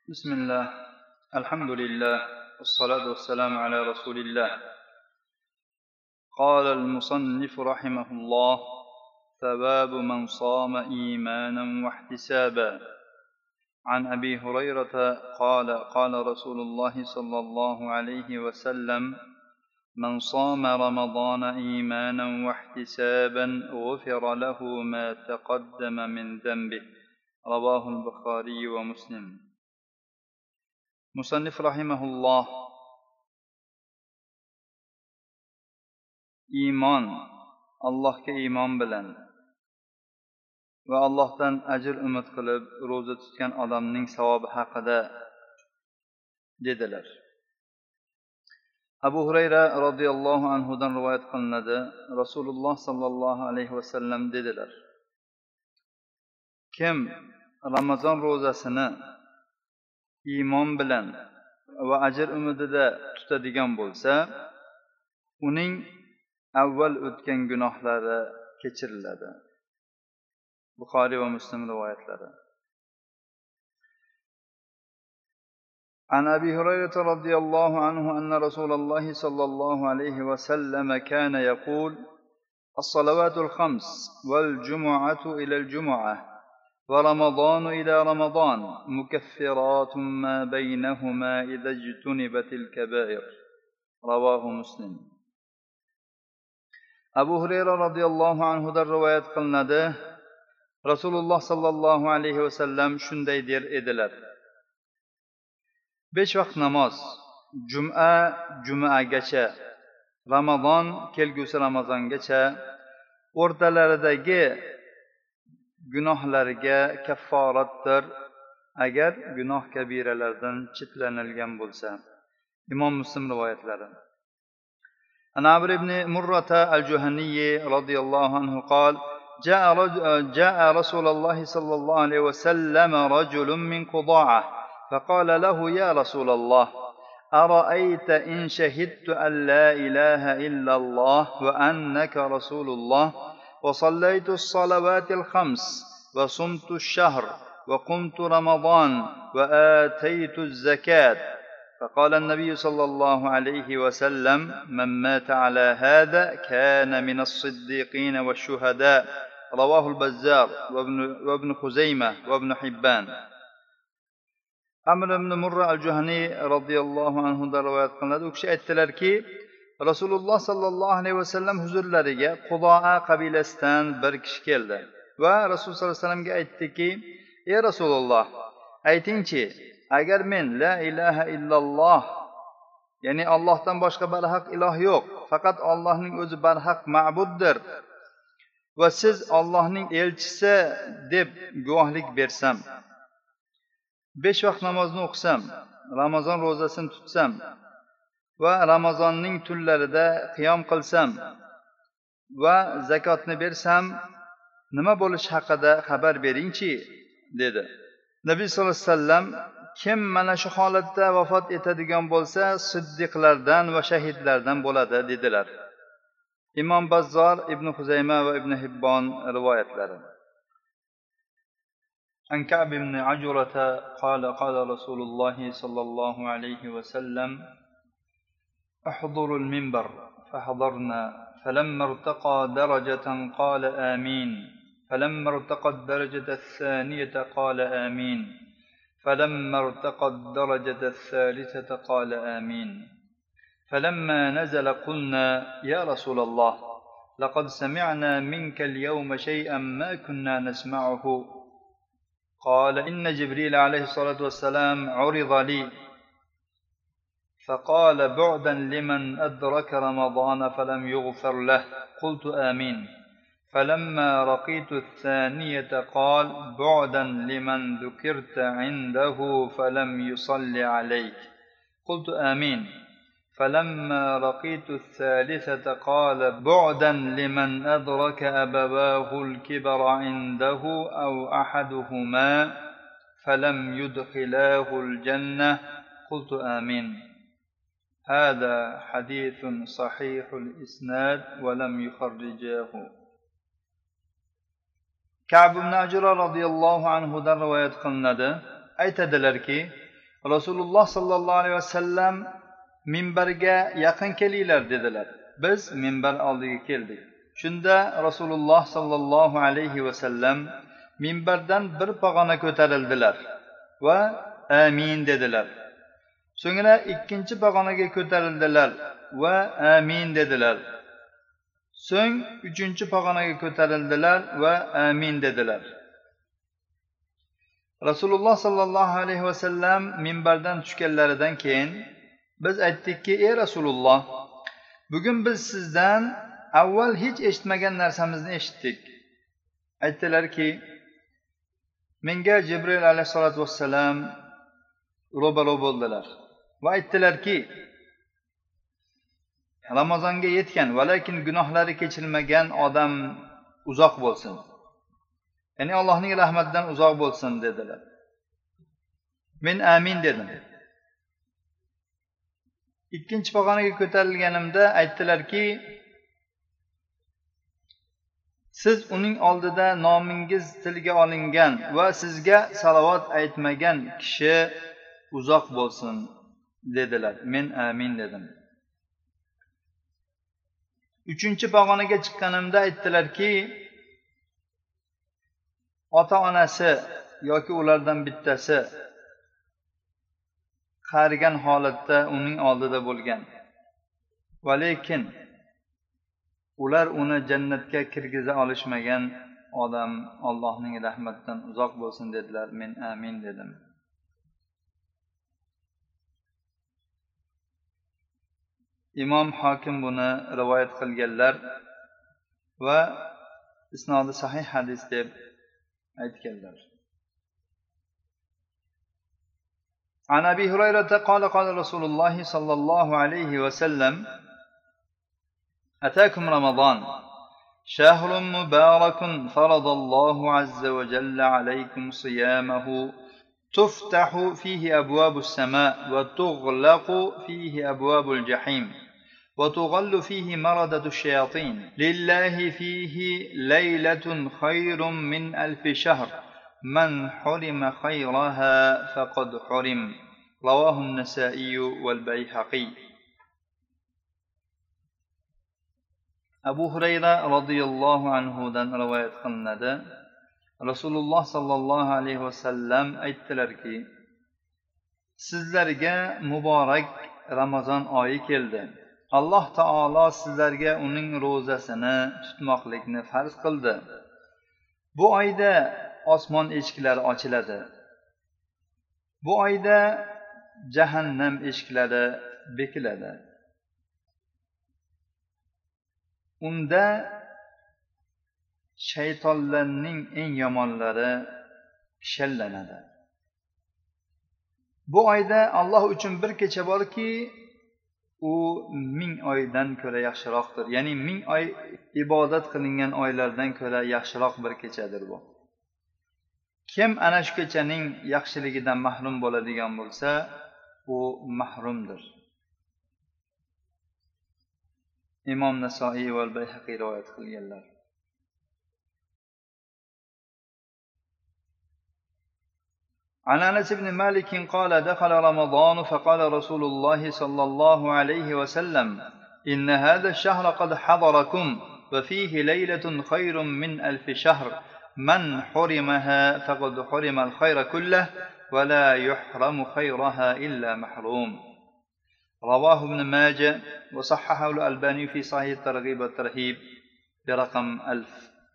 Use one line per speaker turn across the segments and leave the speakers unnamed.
بسم الله الحمد لله والصلاة والسلام على رسول الله. قال المصنف رحمه الله: ثواب من صام إيمانا واحتسابا. عن أبي هريرة قال قال رسول الله صلى الله عليه وسلم: من صام رمضان إيمانا واحتسابا غفر له ما تقدم من ذنبه. رواه البخاري ومسلم. Musannif rahimahulloh iymon, Allohga iymon bilan va Allohdan ajr umid qilib ro'za tutgan odamning savobi haqida dedilar. Abu Hurayra radhiyallohu anhudan rivoyat qilinadi. Rasululloh sallallohu alayhi vasallam dedilar: Kim Ramazon ro'zasini iymon bilan va ajr umidida tutadigan bo'lsa, uning avval o'tgan gunohlari kechiriladi. Buxoriy va Muslim rivoyatlari. عن أبي هريرة رضي الله عنه أن رسول الله صلى الله عليه وسلم كان يقول: الصلوات الخمس والجمعة إلى الجمعة ورمضان إلى رمضان مكفرات ما بينهما إذا اجتنبت الكبائر. رواه مسلم. Abu Hurayra radhiyallohu anhudan rivoyat qilinadi. Rasululloh sallallohu alayhi vasallam shunday der edilar: 5 vaqt namoz, jumagacha, Ramazon kelgusi Ramazongacha o'rtalaridagi gunohlarga kafforatdir, agar gunoh kabiralardan cheklanilgan bo'lsa. Imom Muslim rivoyatlari. An Amr ibn Murrata al-Juhani radhiyallohu anhu قال: جاء رسول الله صلى الله عليه وسلم رجل من قضاعة فقال له: يا رسول الله، أرأيت إن شهدت أن لا إله إلا الله وأنك رسول الله وصليت الصلوات الخمس وصمت الشهر وقمت رمضان وآتيت الزكاة. فقال النبي صلى الله عليه وسلم: من مات على هذا كان من الصديقين والشهداء. رواه البزار وابن خزيمة وابن حبان. Amr ibn Murra al-Juhani radhiyallohu anhu da rivoyat qilinadi. U kishi aytdilarki, Rasululloh sallallohu alayhi vasallam huzurlariga Qudoa qabilasidan bir kishi keldi va Rasululloh sallallohu alayhi vasallamga aytdiki: "Ey Rasululloh, aytingchi, agar men la ilaha illalloh, ya'ni Allohdan boshqa barhaq iloh yo'q, faqat Allohning o'zi barhaq ma'buddir va siz Allohning elchisi deb guvohlik bersam, 5 vaqt namozni o'qisam, Ramazon ro'zasini tutsam va Ramazonning tunlarida qiyom qilsam va zakotni bersam, nima bo'lish haqida xabar beringchi?" dedi. Nabiy sollallohu alayhi vasallam: "Kim mana shu holatda vafot etadigan bo'lsa, siddiqlardan va shahidlardan bo'ladi", dedilar. Imom Bazzor, Ibn Xuzayma va Ibn Hibbon rivoyatlari. عن كعب بن عجرة قال قال رسول الله صلى الله عليه وسلم: احضروا المنبر. فحضرنا، فلما ارتقى درجة قال آمين، فلما ارتقى الدرجة الثانية قال آمين، فلما ارتقى الدرجة الثالثة قال آمين، فلما نزل قلنا: يا رسول الله، لقد سمعنا منك اليوم شيئا ما كنا نسمعه. قال: إن جبريل عليه الصلاة والسلام عرض لي فقال: بعدا لمن أدرك رمضان فلم يغفر له. قلت آمين. فلما رقيت الثانية قال: بعدا لمن ذكرت عنده فلم يصل عليك. قلت آمين. فلما رقيت الثالثة قال: بعدا لمن أدرك أبواه الكبر عنده أو أحدهما فلم يدخلاه الجنة. قلت آمين. هذا حديث صحيح الإسناد ولم يخرجاه. Ka'b ibn Ajra radhiyallohu anhu dan rivoyat qilinadi. Aytadilarki, Rasululloh sallallohu alayhi vasallam minbarga yaqin kelinglar dedilar. Biz minbar oldiga keldik. Shunda Rasululloh sallallohu alayhi vasallam minbardan bir pog'ona ko'tarildilar va amin dedilar. So'ngra ikkinchi pog'onaga ko'tarildilar va amin dedilar. So'ng uchinchi pog'onaga ko'tarildilar va amin dedilar. Rasululloh sallallohu alayhi vasallam minbardan tushganlaridan keyin biz aytdikki, ey Rasululloh, bugun biz sizdan avval hech eshitmagan narsamizni eshitdik. Aytdilarki, menga Jibril alayhisolatu vassalam ro'baro bo'ldilar va aytdilarki, Ramazonga yetgan, lekin gunohlari kechirilmagan odam uzoq bo'lsin. Ya'ni Allohning rahmatidan uzoq bo'lsin dedilar. Men amin dedim. Ikkinchi pog'onaga ko'tarilganimda aytdilarki, siz uning oldida nomingiz tilga olingan va sizga salovat aytmagan kishi uzoq bo'lsin dedilar. Men amin dedim. Uchinchi pog'onaga chiqqanimda aytdilarki, ota-onasi yoki ulardan bittasi qarigan holatda uning oldida bo'lgan. Va lekin ular uni jannatga kirgiza olishmagan odam Allohning rahmatidan uzoq bo'lsin dedilar. Men amin dedim. Imom Hokim buni rivoyat qilganlar va isnodi sahih hadis deb aytganlar. عن أبي هريرة قال قال رسول الله صلى الله عليه وسلم أتاكم رمضان شهر مبارك فرض الله عز وجل عليكم صيامه تفتح فيه أبواب السماء وتغلق فيه أبواب الجحيم وتغل فيه مردة الشياطين لله فيه ليلة خير من 1000 شهر من حرم خيرها فقد حرم رواه النسائي والبيهقي. Abu Hurayra radhiyallohu anhu dan rivoyat qilinadi. Rasululloh sallallohu alayhi vasallam aytdilarki, sizlarga muborak Ramazon oyi keldi. Alloh taolo sizlarga uning ro'zasini tutmoqlikni farz qildi. Bu oyda osmon eshiklari ochiladi. Bu oyda jahannam eshiklari bekiladi. Unda shaytonlarning eng yomonlari shallanadi. Bu oyda Alloh uchun bir kecha borki, u 1000 oydan ko'ra yaxshiroqdir. Ya'ni 1000 oy ibodat qilingan oylardan ko'ra yaxshiroq bir kechadir bu. Kim ana shu kechaning yaxshiligidan mahrum bo'ladigan bo'lsa, u mahrumdir. Imom Nasoiy va Bayhaqiy rivoyat qilganlar. عن أنس بن مالك قال دخل رمضان فقال رسول الله صلى الله عليه وسلم إن هذا الشهر قد حضركم وفيه ليلة خير من 1000 شهر من حرمها فقد حرم الخير كله ولا يحرم خيرها إلا محروم رواه ابن ماجه وصححه الألباني في صحيح الترغيب والترهيب برقم 1000.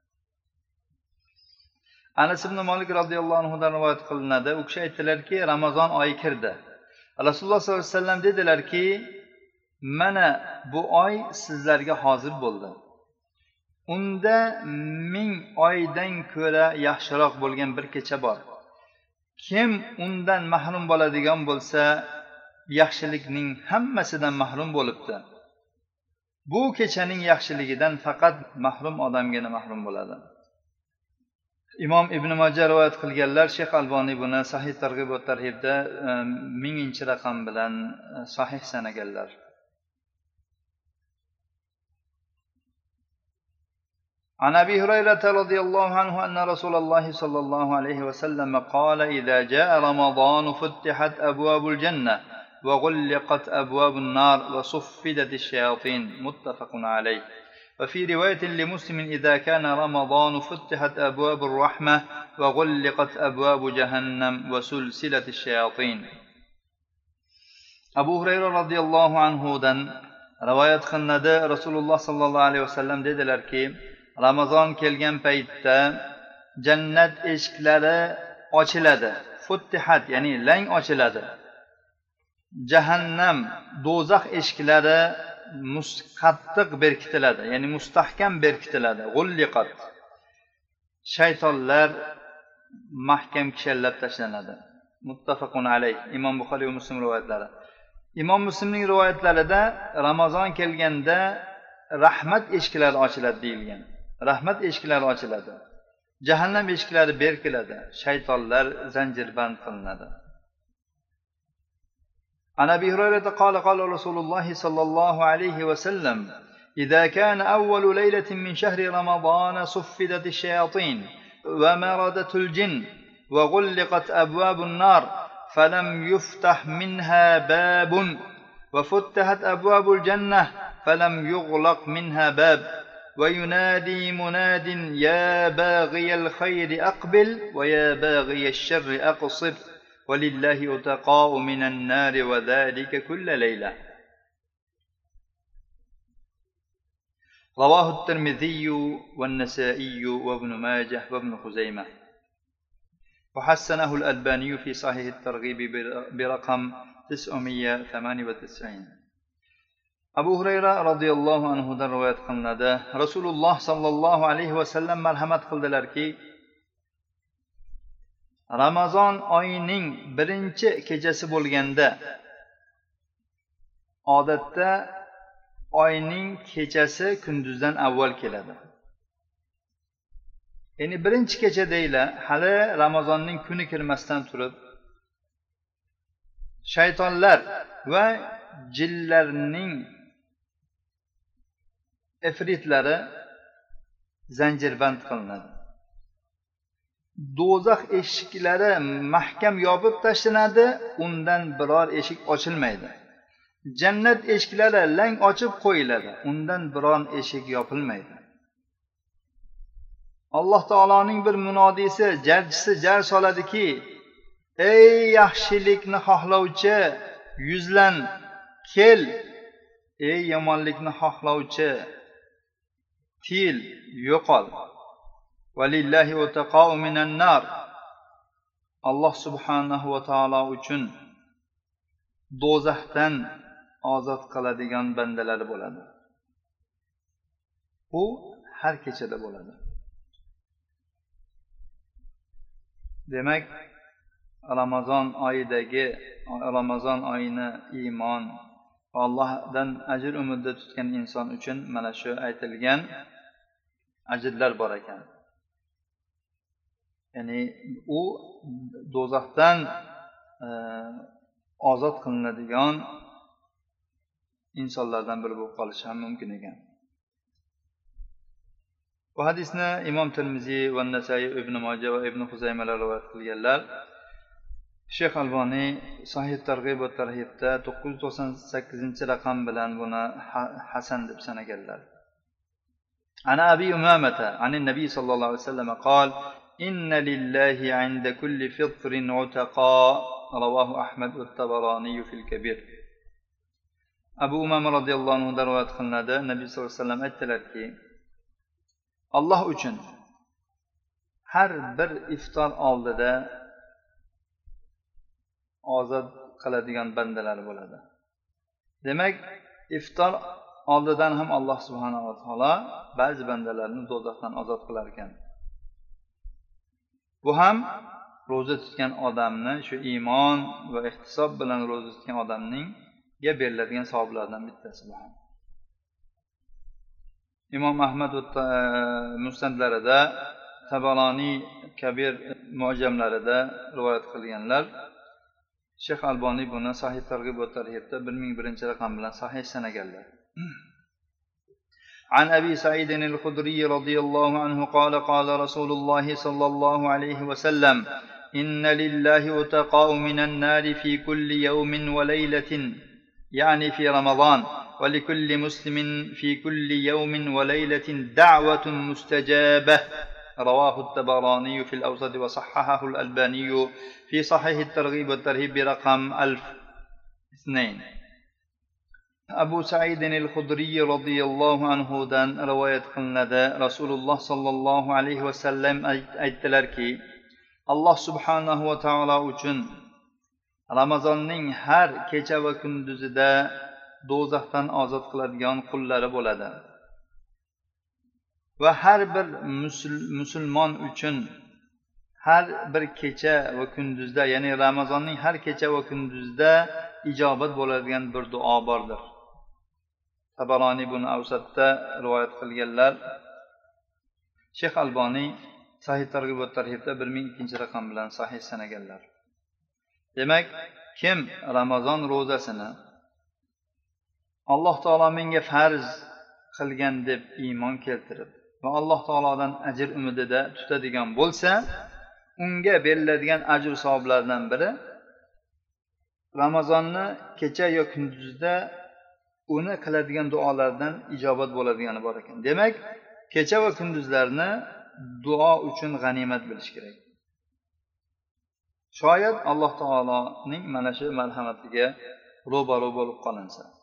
Anas ibn Malik radhiyallohu anhu dan rivoyat qilinadi. U kishi aytdilarki, Ramazon oyi kirdi. Rasululloh sollallohu alayhi vasallam dedilarki, mana bu oy sizlarga hozir bo'ldi. Unda 1000 oydan ko'ra yaxshiroq bo'lgan bir kecha bor. Kim undan mahrum bo'ladigan bo'lsa, yaxshilikning hammasidan mahrum bo'libdi. Bu kechaning yaxshiligidan faqat mahrum odamgina mahrum bo'ladi. Imom Ibn Majah rivoyat qilganlar, Sheyx Alboniy buni Sahih Targ'ib va Tarhibda 1000-raqam bilan sahih sanaganlar. عن أبي هريرة رضي الله عنه أن رسول الله صلى الله عليه وسلم قال إذا جاء رمضان فتحت أبواب الجنة وغلقت أبواب النار وصفدت الشياطين متفق عليه. وفي رواية لمسلم إذا كان رمضان فتحت أبواب الرحمة وغلقت أبواب جهنم وسلسلة الشياطين. أبو هريرة رضي الله عنه دن رواية قilnadi Rasululloh sallallohu alayhi vasallam dedilarki, Ramazon kelgan paytda jannat eshiklari ochiladi. Futtihat ya'ni lang ochiladi. Jahannam, do'zax eshiklari qattiq berkitiladi, ya'ni mustahkam berkitiladi. G'ulliqat. Shaytonlar mahkam kishallab tashlanadi. Muttafaqun alayh. Imom Buxoriy va Muslim rivoyatlari. Imom Muslimning rivoyatlarida Ramazon kelganda rahmat eshiklari ochiladi deyilgan. Rahmat eshiklari ochiladi. Jahannam eshiklari berkiladi. Shaytonlar zanjirband qilinadi. عن أبي هريرة قال قال رسول الله صلى الله عليه وسلم إذا كان أول ليلة من شهر رمضان صفدت الشياطين ومردت الجن وغلقت أبواب النار فلم يفتح منها باب وفتحت أبواب الجنة فلم يغلق منها باب وينادي مناد يا باغي الخير أقبل ويا باغي الشر أقصر ولله أتقاء من النار وذلك كل ليلة. رواه الترمذي والنسائي وابن ماجه وابن خزيمة وحسنه الألباني في صحيح الترغيب برقم 998. Abu Hurayra radhiyallohu anhu dan rivoyat qilinadi. Rasululloh sallallohu alayhi vasallam marhamat qildilarki, Ramazon oyining birinchi kechasi bo'lganda, odatda oyning kechasi kunduzdan avval keladi. Ya'ni birinchi kecha deylar, hali Ramazonning kuni kirmasdan turib, shaytonlar va jinlarning ifritlari zanjirband qilinadi. Do'zax eshiklari mahkam yopib tashlanadi, undan biror eshik ochilmaydi. Jannat eshiklari lang ochib qo'yiladi, undan biror eshik yopilmaydi. Alloh taoloning bir munodisi, jarchisi jar soladiki, ey yaxshilikni xohlovchi, yuzlan, kel. Ey yomonlikni xohlovchi, til, yo'qol. Valillahi utaqa'u minan nar. Alloh subhanahu va taolo uchun do'zaxdan ozod qiladigan bandalari bo'ladi. Bu har kechada bo'ladi. Demak, Ramazon oyini iymon va Allohdan ajr umidda tutgan inson uchun mana shu aytilgan ajrlar bor ekan. Ya'ni u do'zaxdan ozod qilinadigan insonlardan biri bo'lib qolishi ham mumkin ekan. Bu hadisni Imom Tirmiziy va Nasai, Ibn Majah va Ibn Xuzaymalar rivoyat qilganlar. Sheyx Alboniy Sahih Targ'ib va Tarhibda 998-raqam bilan buni hasan deb sanaganlar. Ana Abi Umamata, anin Nabiy sallallohu alayhi vasallam qol: "Inna lillahi 'inda kulli fitrin 'utaqa." Rawahu Ahmad va Tabarani fil Kabir. Abu Umama radhiyallohu anhu rivoyat qilinadi. Nabiy sallallohu alayhi vasallam aytdilarki, Alloh uchun har bir iftor oldida ozod qiladigan bandalar bo'ladi. Demak, iftor oldidan ham Alloh subhanahu va taolo ba'zi bandalarni do'zaxdan ozod qilar ekan. Bu ham ro'za tutgan odamni, shu iymon va ihtisob bilan ro'za tutgan odamningga beriladigan savoblardan bittasi bu ham. Imom Ahmad musnadlarida, Tabarani Kabir mu'jamlarida rivoyat qilganlar. Sheyx Alboniy buni Sahih Targ'ib va Tarhibda 1001-raqam bilan sahih sanaganlar. عن أبي سعيد الخدري رضي الله عنه قال قال رسول الله صلى الله عليه وسلم إن لله أتقاء من النار في كل يوم وليلة يعني في رمضان ولكل مسلم في كل يوم وليلة دعوة مستجابة رواه الطبراني في الأوسط وصححه الألباني في صحيح الترغيب والترهيب برقم 1002. Abu Sa'id al-Khudri radhiyallohu anhu dan rivoyat qilinadi. Rasululloh sallallohu alayhi vasallam aytdilarki, Alloh subhanahu va taolo uchun Ramazonning har kecha va kunduzida do'zaxdan ozod qiladigan qullari bo'ladi. Va har bir musulmon uchun har bir kecha va kunduzda, ya'ni Ramazonning har kecha va kunduzida ijobat bo'ladigan bir duo bordir. Tabaroniy buni Avsatda rivoyat qilganlar. Shayx Alboniy Sahih Targ'ib va Tarhibda 1002-raqam bilan sahih sanaganlar. Demak, kim Ramazon ro'zasini Alloh taolo menga farz qilgan deb iymon keltirib va Alloh taolodan ajr umidida tutadigan bo'lsa, unga beriladigan ajr savoblardan biri Ramazonni kecha yo kunduzda uni qiladigan duolardan ijobat bo'ladigani bor ekan. Demak, kecha va kunduzlarni duo uchun g'animat bilish kerak. Shoyat Alloh taoloning mana shu marhamatiga ro'baro bo'lib qolinsa.